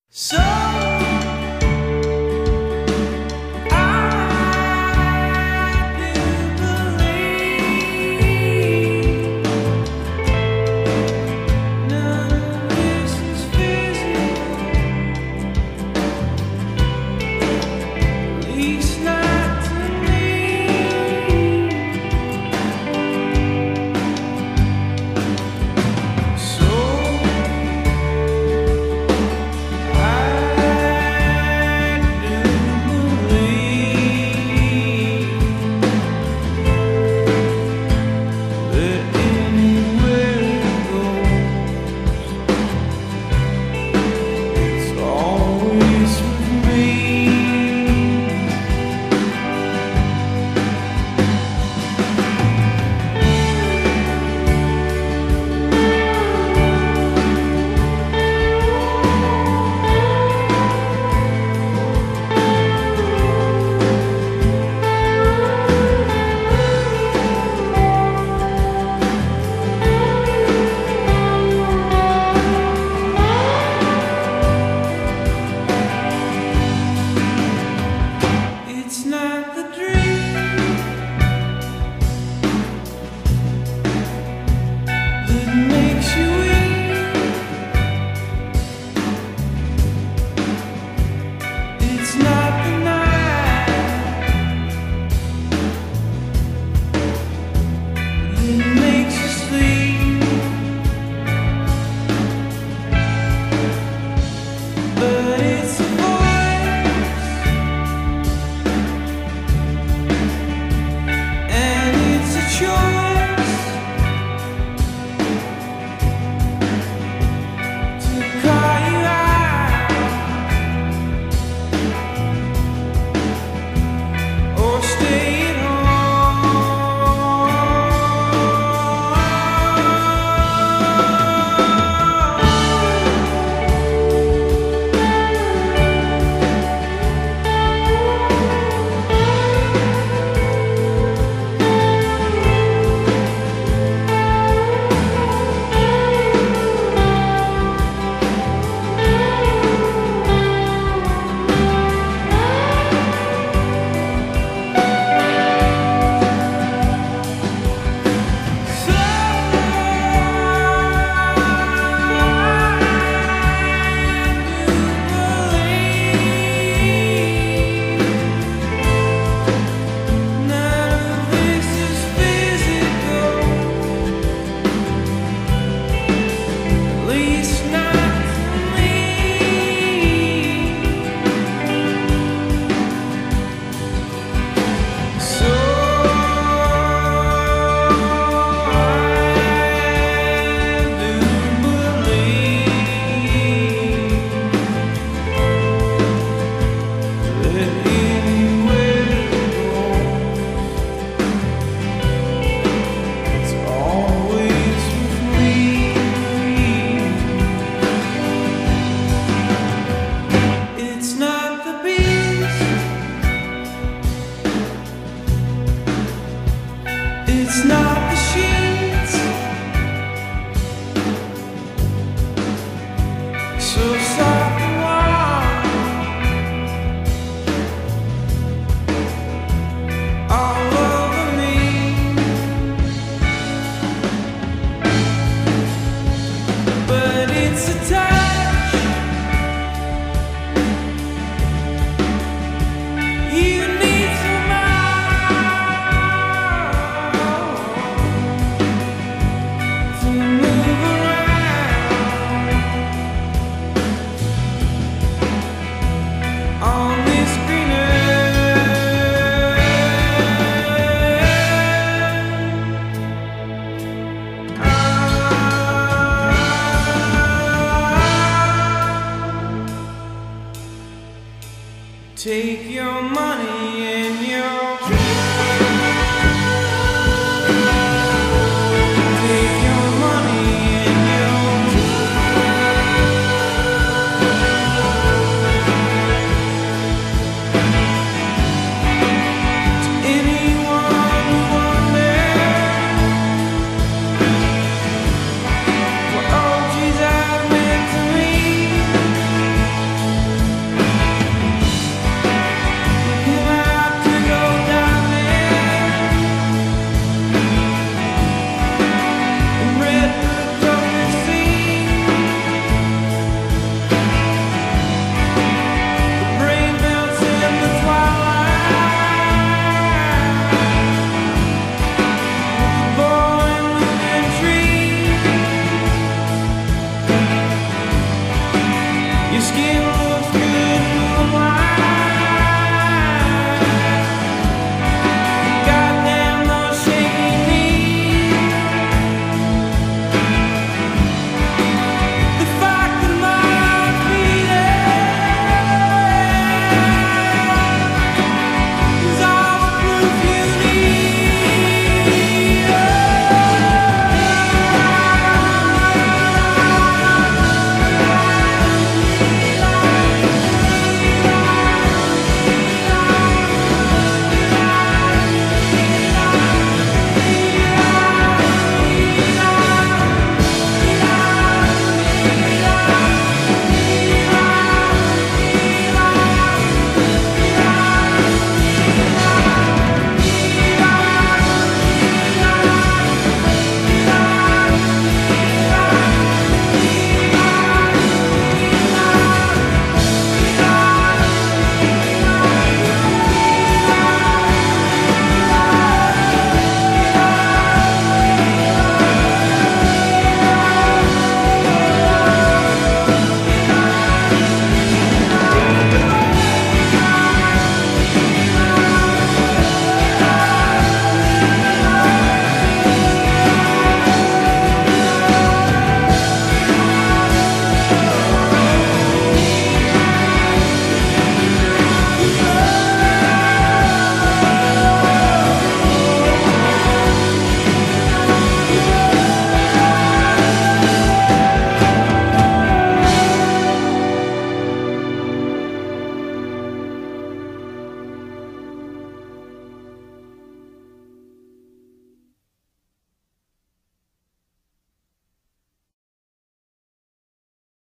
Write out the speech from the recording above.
So I do believe none of this is physical, at least not to me. So it's not the dream that makes you weak. It's not the night that makes you sleep. But it's a voice, and it's a choice to call you out or stay at it's not the sheets, so soft and warm all over me. But it's a touch you need so much to move around on this green earth. Take your money and your risky move.